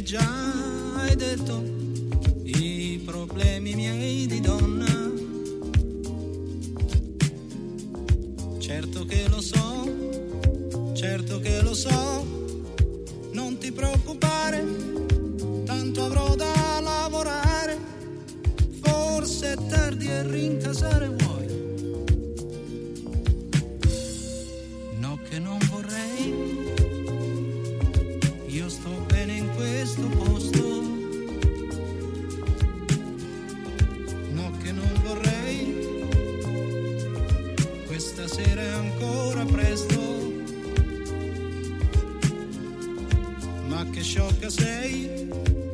già hai detto i problemi miei di donna. Certo che lo so, non ti preoccupare, tanto avrò da lavorare, forse è tardi e rincasare vuoi. No che non vorrei, io sto bene in questo posto. No che non vorrei, questa sera è ancora presto. Ma che sciocca sei,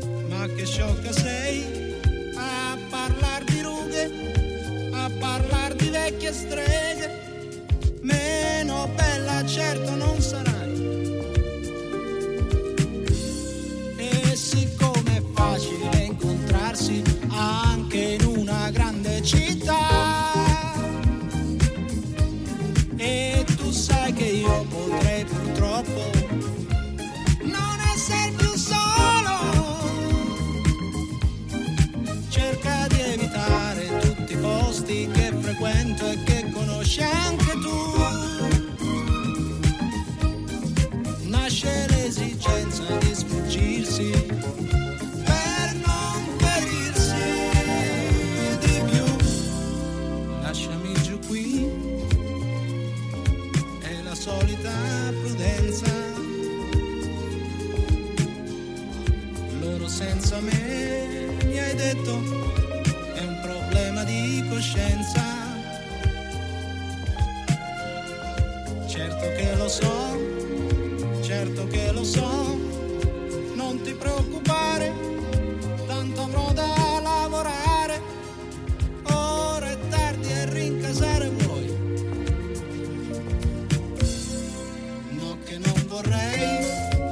a parlar di rughe, a parlar di vecchie streghe, meno bella certo non sarai. E siccome è facile incontrarsi anche in una grande città, e tu sai che io potrei purtroppo sei più solo, cerca di evitare tutti i posti che frequento e che conosci anche tu. Nasce l'esigenza di sfuggirsi per non ferirsi di più. Lasciami giù qui, è la solita prudenza. Senza me, mi hai detto, è un problema di coscienza. Certo che lo so, non ti preoccupare, tanto avrò da lavorare, ora è tardi e rincasare vuoi. No che non vorrei,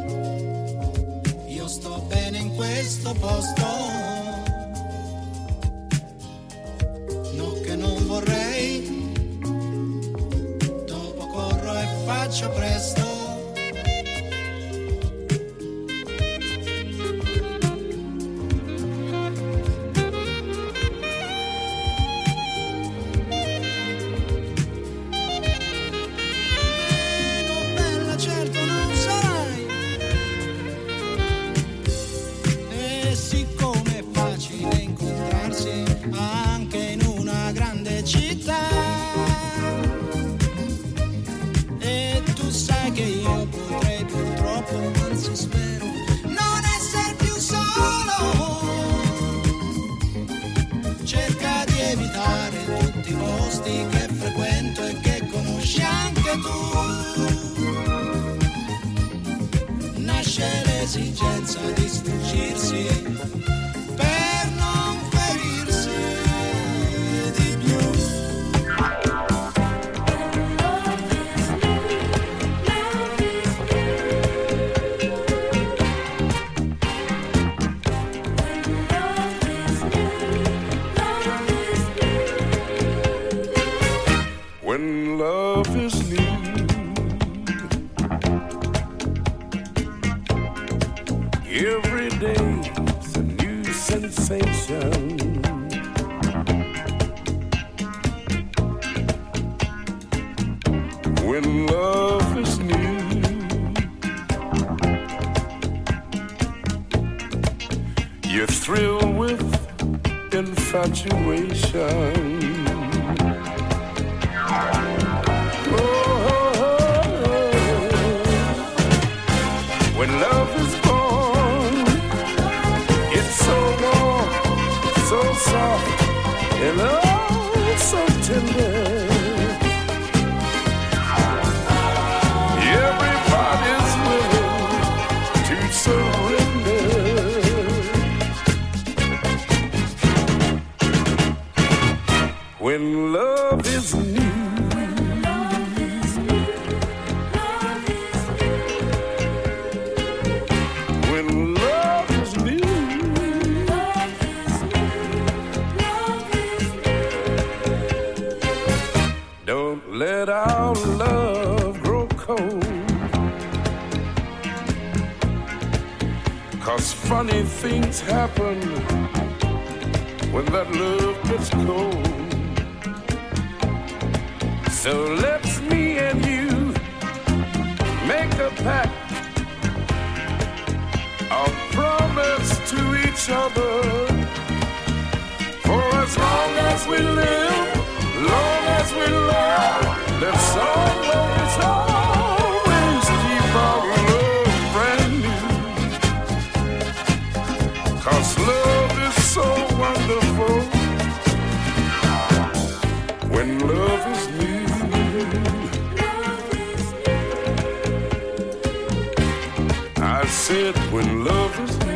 sto bene in questo posto. No che non vorrei, dopo corro e faccio presto. Che frequento e che conosci anche tu. Nasce l'esigenza di sfuggirsi per non ferirsi di più. When love is new, every day's a new sensation. When love is new, you thrill with infatuation. When love is born, it's so warm, so soft, and oh, so tender. Everybody's willing to surrender. When love is new, let our love grow cold, 'cause funny things happen when that love gets cold. So let's me and you make a pact, a promise to each other. For as long as we live, long as we love, let's always, always keep our love brand new. 'Cause love is so wonderful when love is new. I said when love is new.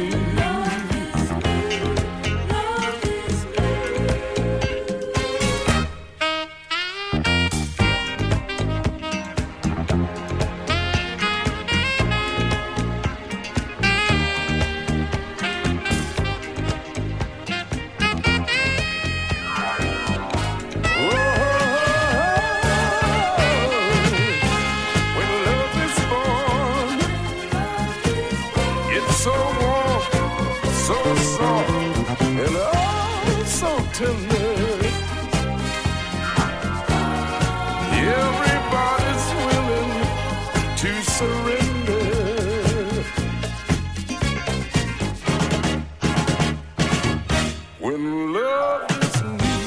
Everybody's willing to surrender. When love is new,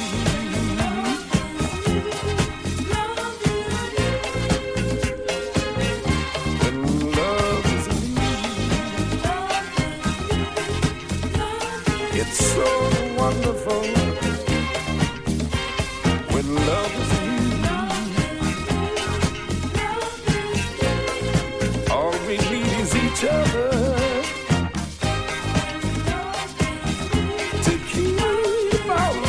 when love is new, it's so wonderful. When love is new, all we need is each other to keep our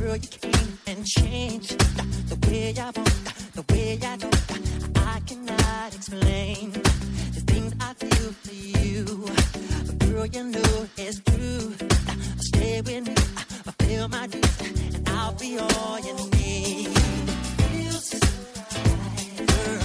Girl, you came and changed the way I walk, the way I talk. I cannot explain the things I feel for you. Girl, you know it's true. Stay with me, fulfill my dreams, and I'll be all you need. Feels so right, girl.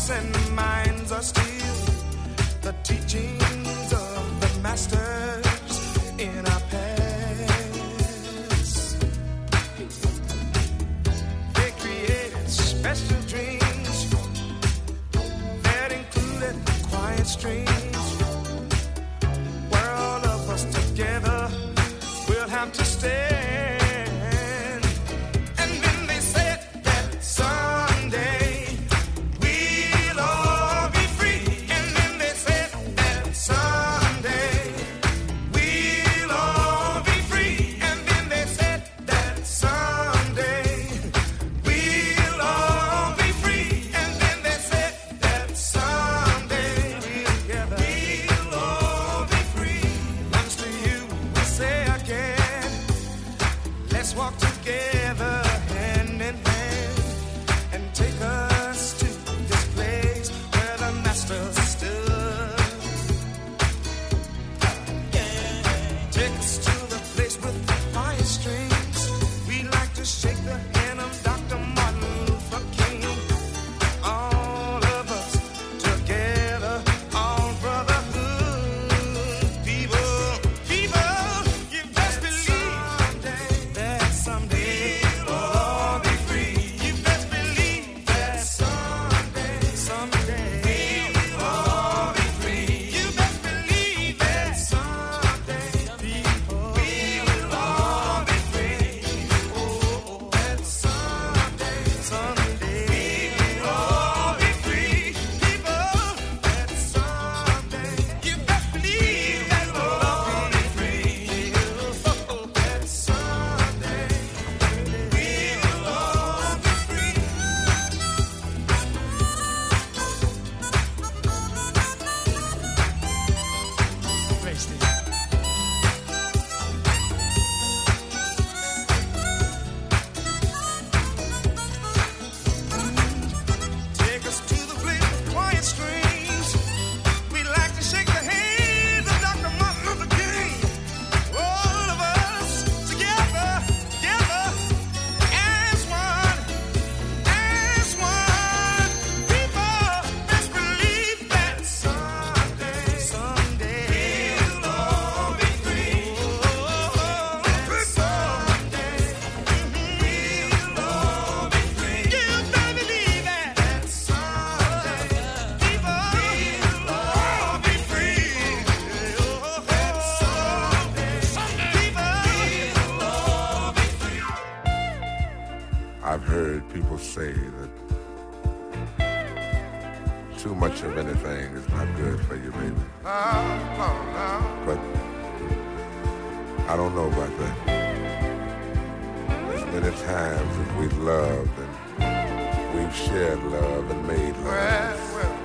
hearts and minds are still the teachings of the masters in our past. They created special dreams that included quiet streams where all of us together will have to stand. And then they said that someday we'll all be free. And then they said that someday we'll all be free. And then they said that someday we'll all be free. And then they said that someday we'll all be free. Once to you we say again, let's walk together hand in hand and take us to this place where the master stood. Take us to the place with the fire strings. We like to shake the hand of Dr. Martin Luther King. All of us together, all brotherhood. People, you best believe that someday we'll all be free. You best believe that someday we'll all be free. You best believe that someday people will all be free. Oh, that someday we'll all be free. People, that someday you best believe that we'll all be free. Oh, that someday we'll all be free. Take us to the place with quiet streams. We like to shake the hands of Dr. Martin Luther King. All of us together, as one. People, best believe that someday we'll all be free. Oh, someday we'll all be free. You better believe that someday people will all be free. Oh, someday people will all be free. I've heard people say that too much of anything is not good for you, baby. But I don't know about that. As many times as we've loved and we've shared love and made love,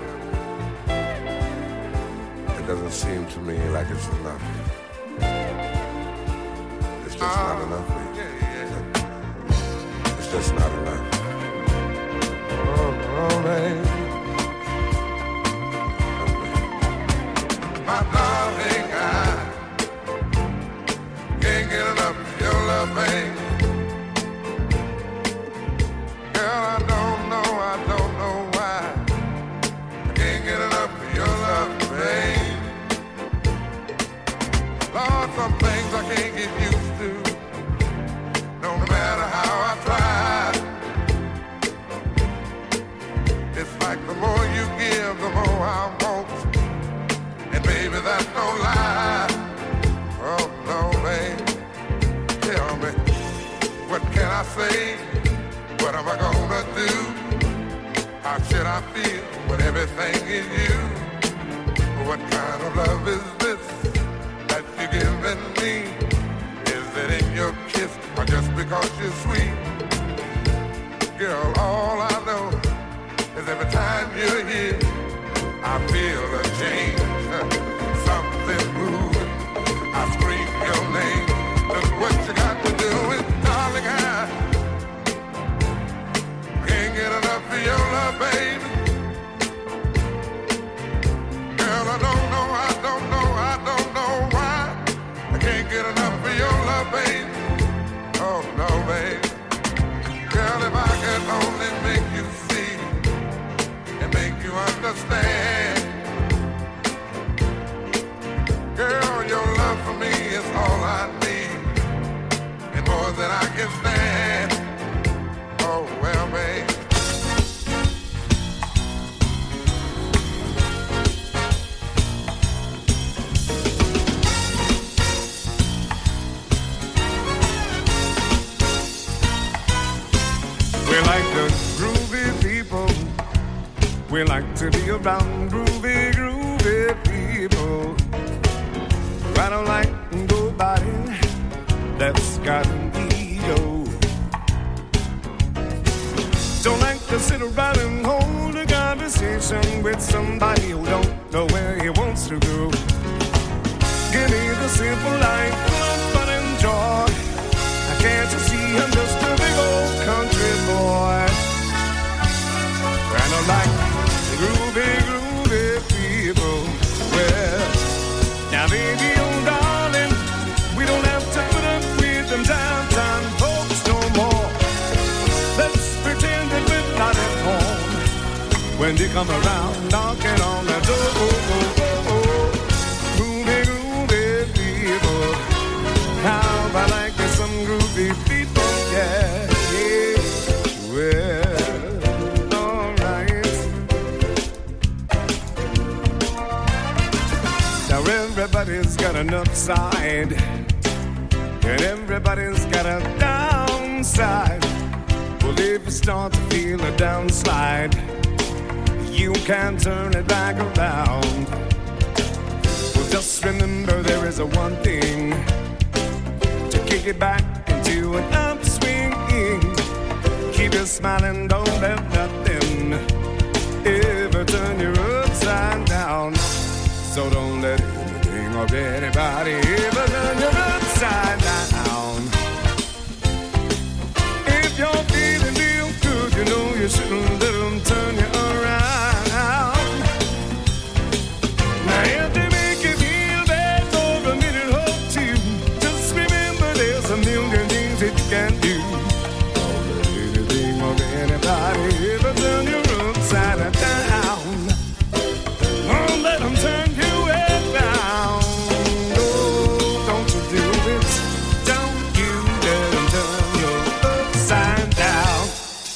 it doesn't seem to me like it's enough. It's just not enough, baby. It's just not enough. Oh, baby. My darling, I can't get enough of your love, baby. Girl, I don't know why. I can't get enough of your love, baby. Lord, some things I can't get used to, no matter how I try. It's like the more you give, the more I want. And baby, that's no lie. Oh, no, baby. Tell me, what can I say? What am I gonna do? How should I feel when everything is you? What kind of love is this that you're giving me? Is it in your kiss or just because you're sweet? Girl, all I know is every time you're here, I feel a change, something moving. I scream your name. Look what you got to do, and darling, I can't get enough of your love, baby. Girl, I don't know why. I can't get enough of your love, baby. Oh no, baby. Girl, if I could only make you see and make understand. Girl, your love for me is all I need, and more than I can stand. Oh, well, babe. We like the groovy people. We like to be around groovy, groovy people. I don't like nobody that's got an ego. Don't like to sit around and hold a conversation with somebody who don't know where he wants to go. Give me the simple life, fun and joy. Can't you see I'm just a big old country boy? And I like groovy, groovy people. Well, now baby, oh darling, we don't have to put up with them downtown folks no more. Let's pretend that we're not at home when they come around knocking on the door. Groovy, groovy people. How I like some groovy people, yeah, yeah. Well, alright. Now everybody's got an upside, and everybody's got a downside. Well, if you start to feel a downslide, you can turn it back around. Well, just remember there is a one thing. Kick it back into an upswing. Keep you smiling, don't let nothing ever turn you upside down. So don't let anything or anybody ever turn you upside down. If you're feeling real good, you know you shouldn't let them turn you around. Now if they make you feel bad for a minute or two, just remember there's a million things that you can do. Don't let anything or anybody ever turn you upside down. Don't let them turn you around. No, don't you do it. Don't you let them turn you upside down.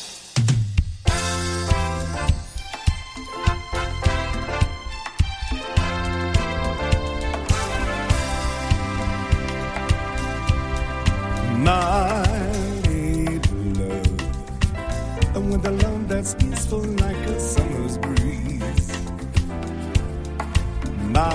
My love, and with a love that's peaceful like a summer's breeze. My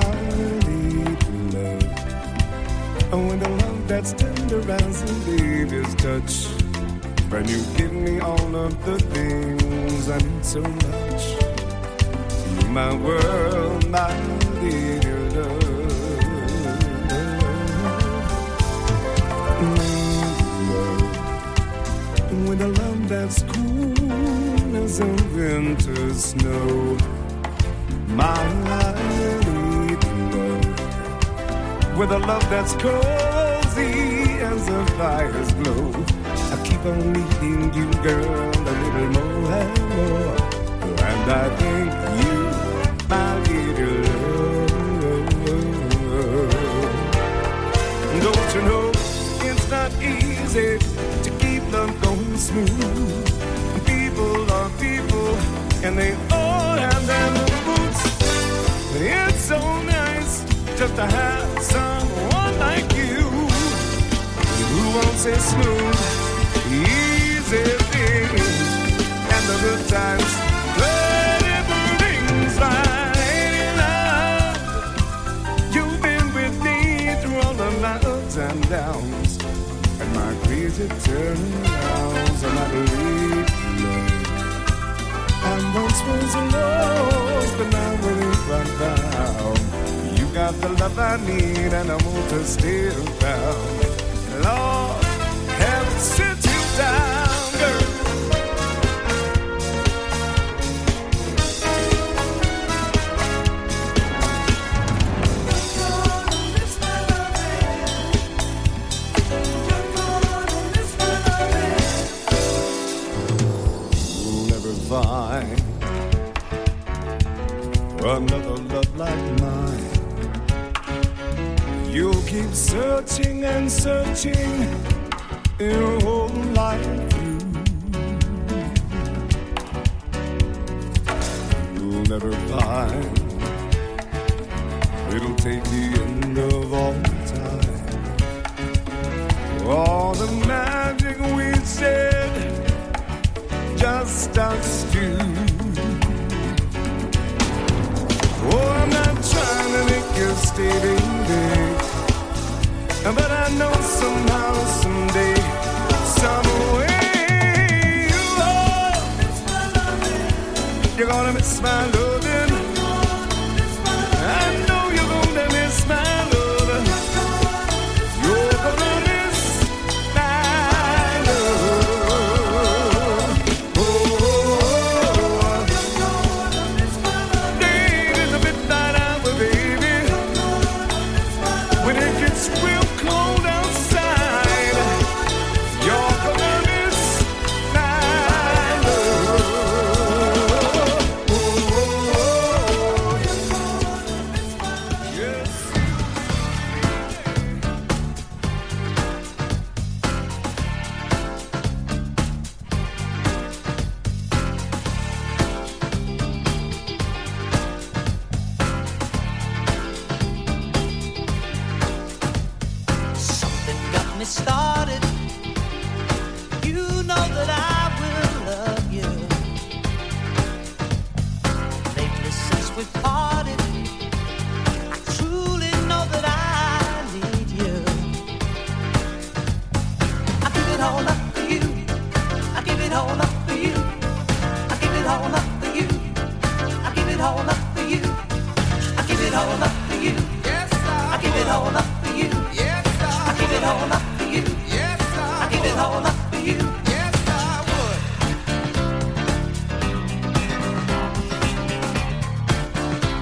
love, and with a love that's tender as a baby's touch. And you give me all of the things I need so much. You're my world, my little love. With a love that's cool as a winter snow. My little love. With a love that's cozy as the fire's glow. I keep on needing you, girl, a little more and more. And I think you, my little love. Don't you know it's not easy to keep love going smooth. People are people, and they all have their little boots. It's so nice just to have someone like you who won't say smooth, easy things, and the good times that it brings by. Love, you've been with me through all the ups and downs, and my crazy turnarounds, and I believe love. I once was lost, but now we're right down. You got the love I need, and I want to stay around. Lord, have it sit you down, girl. You'll never find another love like mine. You'll keep searching and searching your whole life through. You'll never find it'll take the end of all time. All the magic we said, just us two. Oh, I'm not trying to make you stay, baby, but I know somehow, someday, some way, you're gonna miss my loving. I know you're gonna miss my loving. You're gonna miss my love. Oh, late in the midnight hour, baby, when it gets real cold outside, you're gonna miss my love. Yes. Something got me started. You know that I will love you. Lately since we parted, I truly know that I need you. I give it all up for you. I give it all up for you. I give it all up for you. I give it all up for you. I give it all up for you. Yes, I give it all up for you. Yes, I give it all up for you. Yes, I give it all up for you. Yes, I would.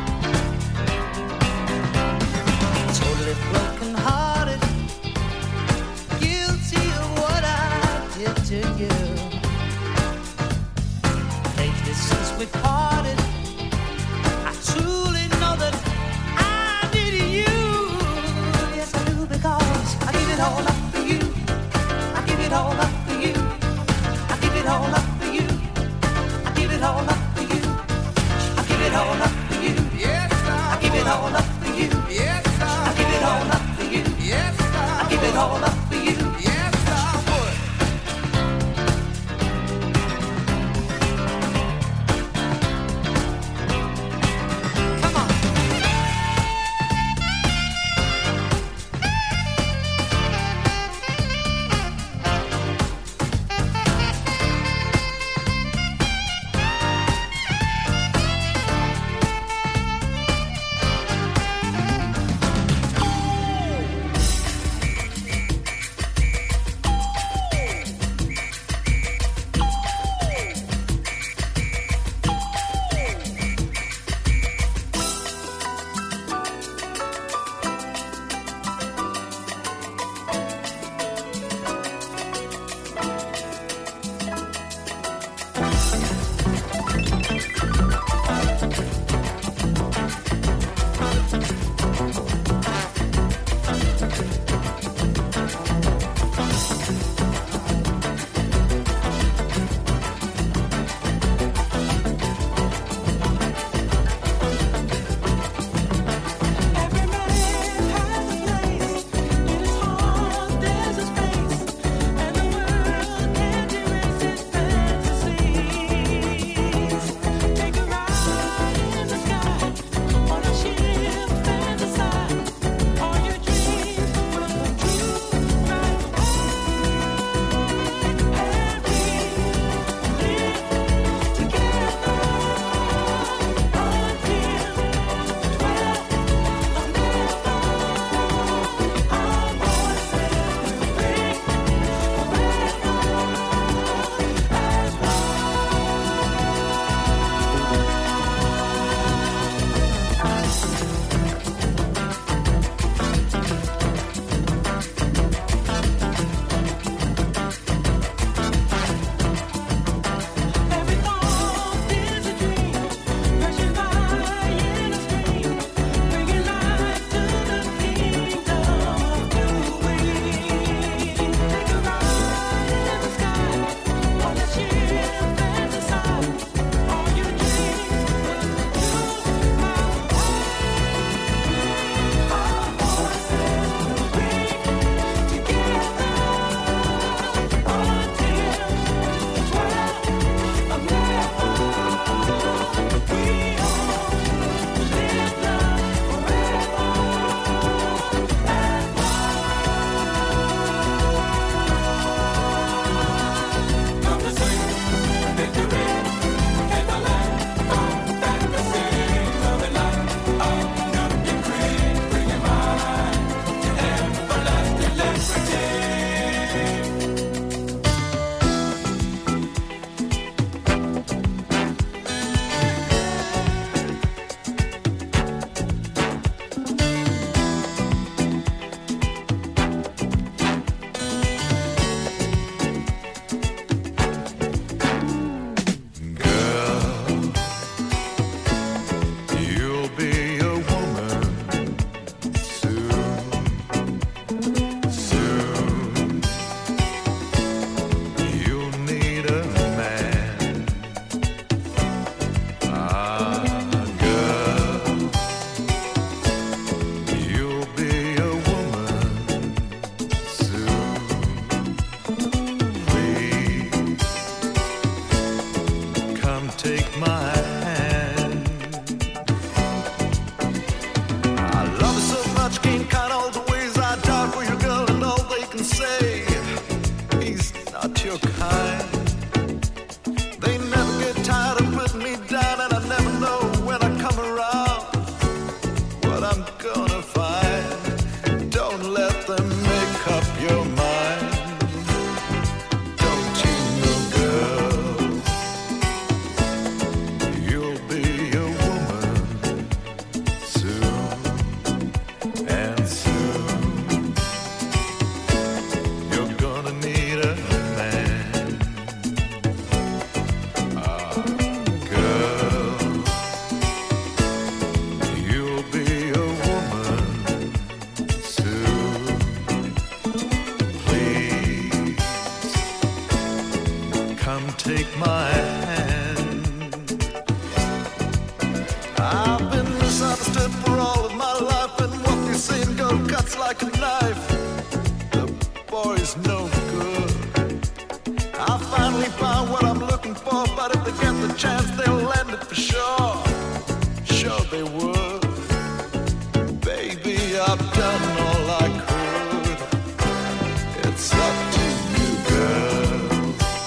stood for all of my life, and what they say in girl cuts like a knife. The boy's no good. I finally found what I'm looking for, but if they get the chance, they'll land it for sure. Sure they would. Baby, I've done all I could. It's up to you, girl.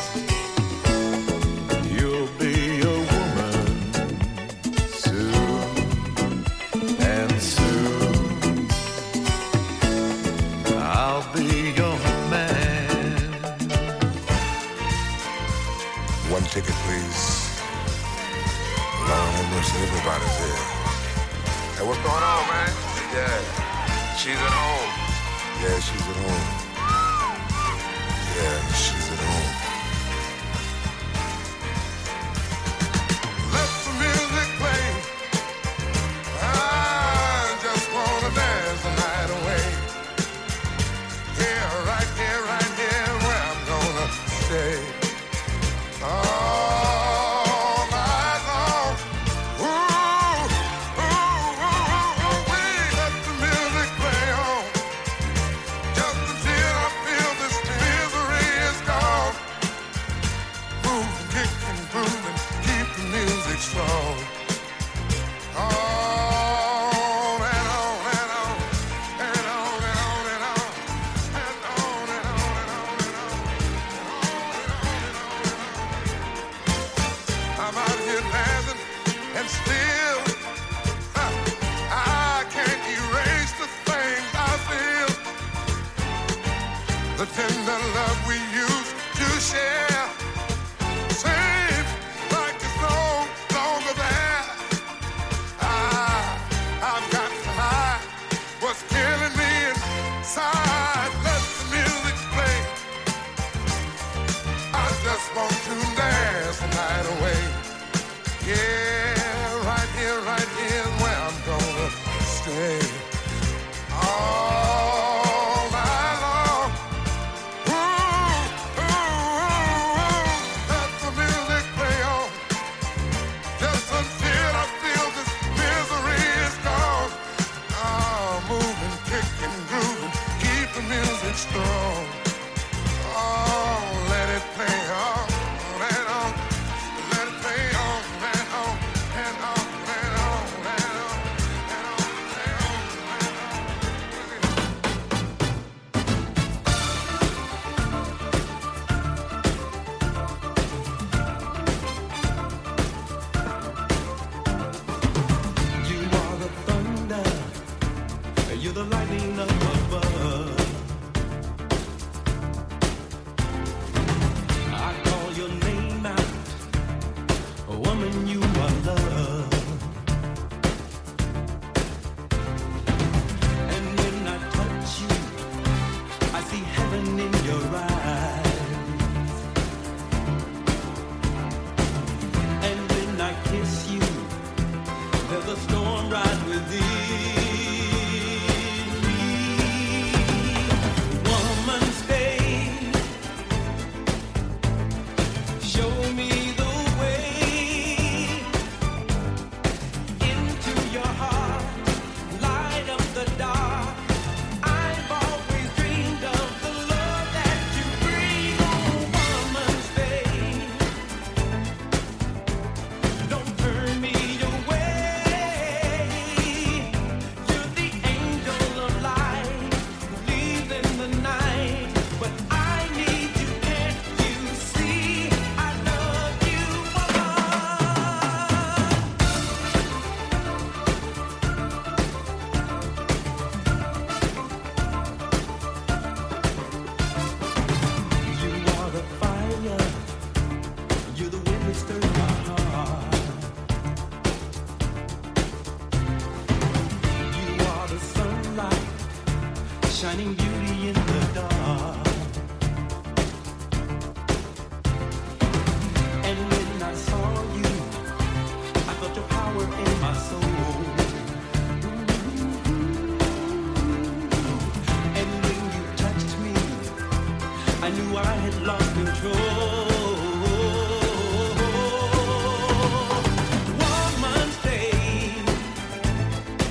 You'll be a woman soon, and soon I'll be your man. One ticket, please. Lord have mercy, everybody's here. Hey, what's going on, man? Yeah, she's at home. Yeah, she's at home. Yeah, she's at home. Let the music play. I just wanna dance the night away. Right here, where I'm gonna stay. All night long. Ooh, let the music play on. Just until I feel this misery is gone. Move, kick and groove and keep the music strong. On and on and on and on and on and on and on and on and on and on. I'm out here dancing and still I can't erase the things I feel. The tender love we used to share seems like it's no longer there. I've got to hide what's killing me inside. Let the music play. I just want to dance the night away. Yeah, right here is where I'm gonna stay. All night long. Ooh, let the music play on. Just until I feel this misery is gone. Moving, kicking, grooving, keep the music strong. Oh, let it play on and on. Let it play on and on and on and on and on and on and on You are the thunder, you're the lightning up above. I call your name out, woman, you are love. And when I touch you, I see heaven in your eyes. And when I kiss you, there's a storm right within me. Woman, stay. Show me the way into your heart. Light up the dark. I've always dreamed of the love that you bring. Oh, woman, stay. Don't turn me away. You're the angel of light, leave in the night. But I need you, can't you see? I love you, You are the fire, you're the wind that stirs my heart. You are the sunlight, shining beauty in the dark. And when I saw you, I felt your power in my soul. And when you touched me, I knew I had lost control. Woman, stay.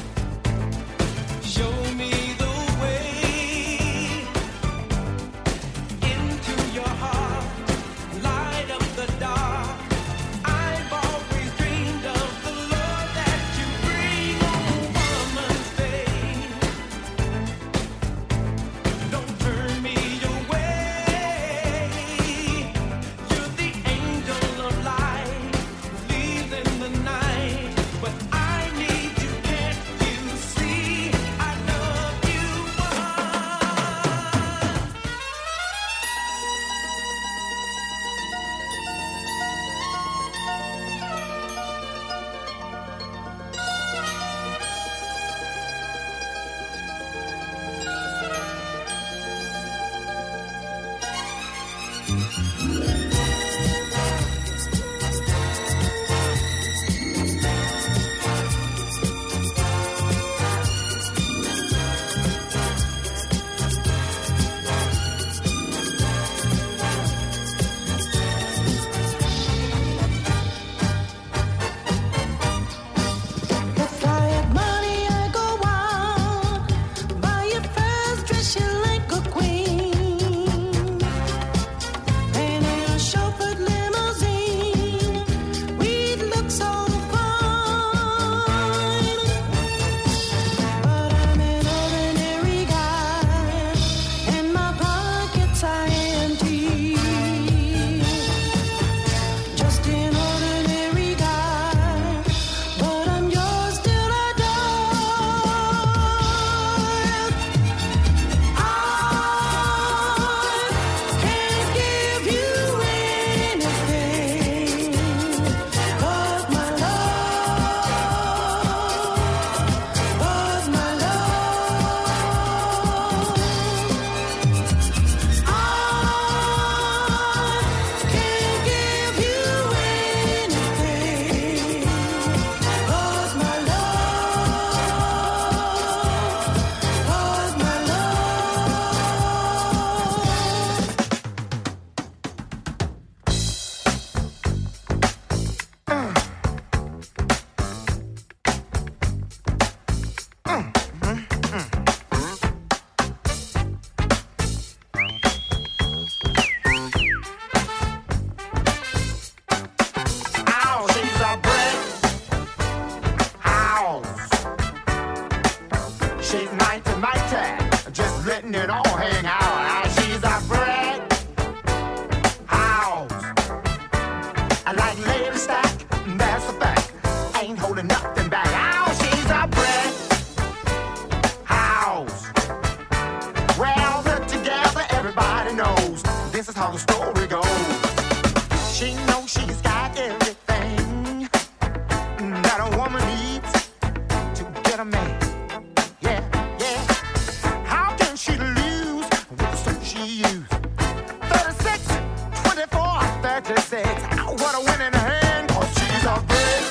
letting it all hang out. She's a brick house. I like Lady Stack, that's a fact. Ain't holding nothing back. Oh, she's a brick house. Well, put together, everybody knows this is how the story goes. She knows she's got everything that a woman needs to get a man. Yeah, yeah. How can she lose with the stuff she used? 36, 24, 36. What a winning hand, 'cause she's a brick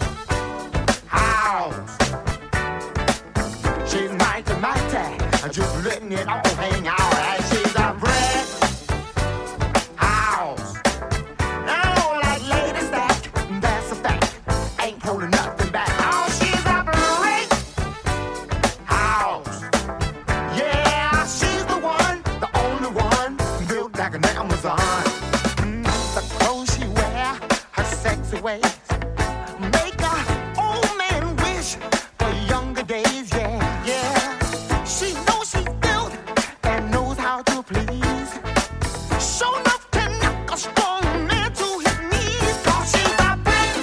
house. She's mighty, mighty, just letting it all hang out. She's a brick house. Oh, like Lady Stack, that's a fact. Ain't holding nothing back. Oh, she's a brick house. Yeah, she's the one, the only one, built like an Amazon. The clothes she wear, her sexy ways, make a old man wish for younger days. Yeah, yeah. She knows she's built and knows how to please. Show enough can knock a strong man to his knees. 'Cause she's a brick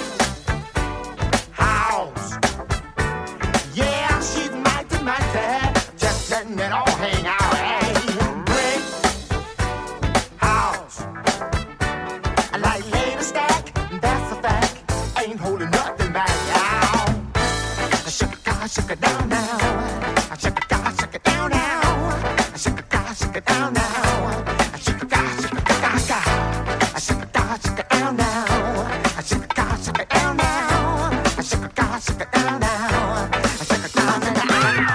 house. Yeah, she's mighty, mighty, just letting it all hang out. Hey, brick house. I like Lady Stack, that's a fact. Ain't holding nothing back. Ow. Shake it down now. Shake it down now. Shake it down now. Shake it down now. Shake it down now. Shake it down now. Shake it down now.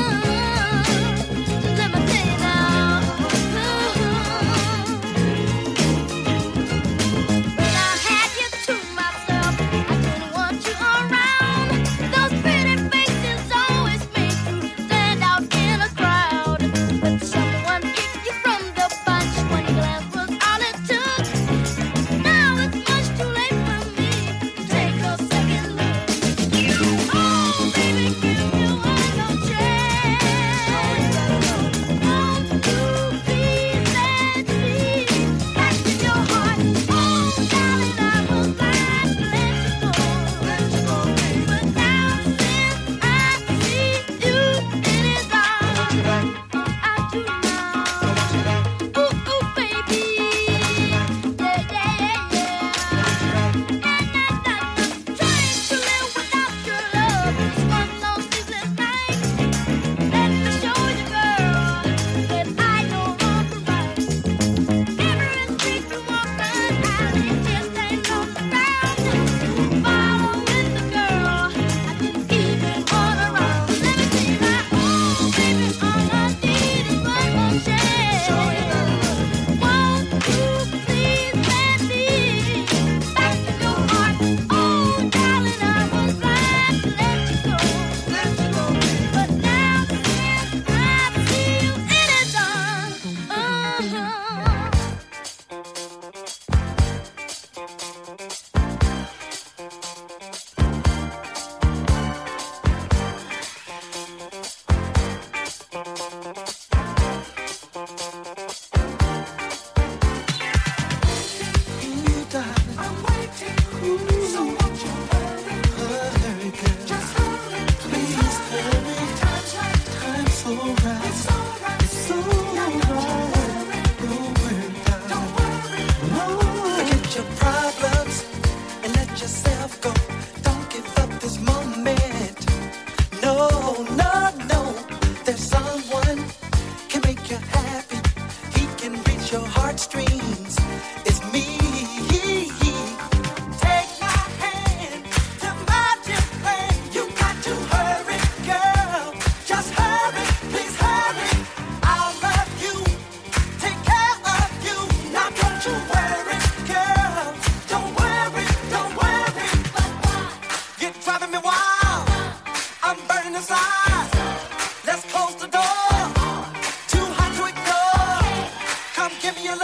Let me tell you now.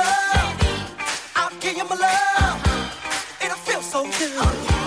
love. I'll give you my love. It'll feel so good.